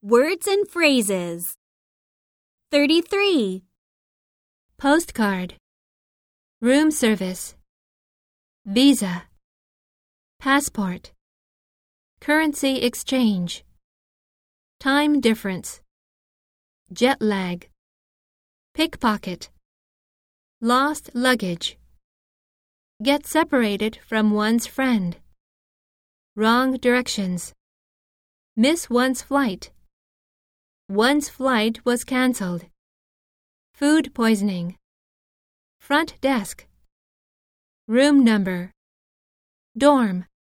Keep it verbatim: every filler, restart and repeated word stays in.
Words and phrases. thirty-three. Postcard, room service, visa, passport, currency exchange, time difference, jet lag, pickpocket, lost luggage, get separated from one's friend, wrong directions, miss one's flight, one's flight was cancelled, food poisoning, front desk, room number, dorm.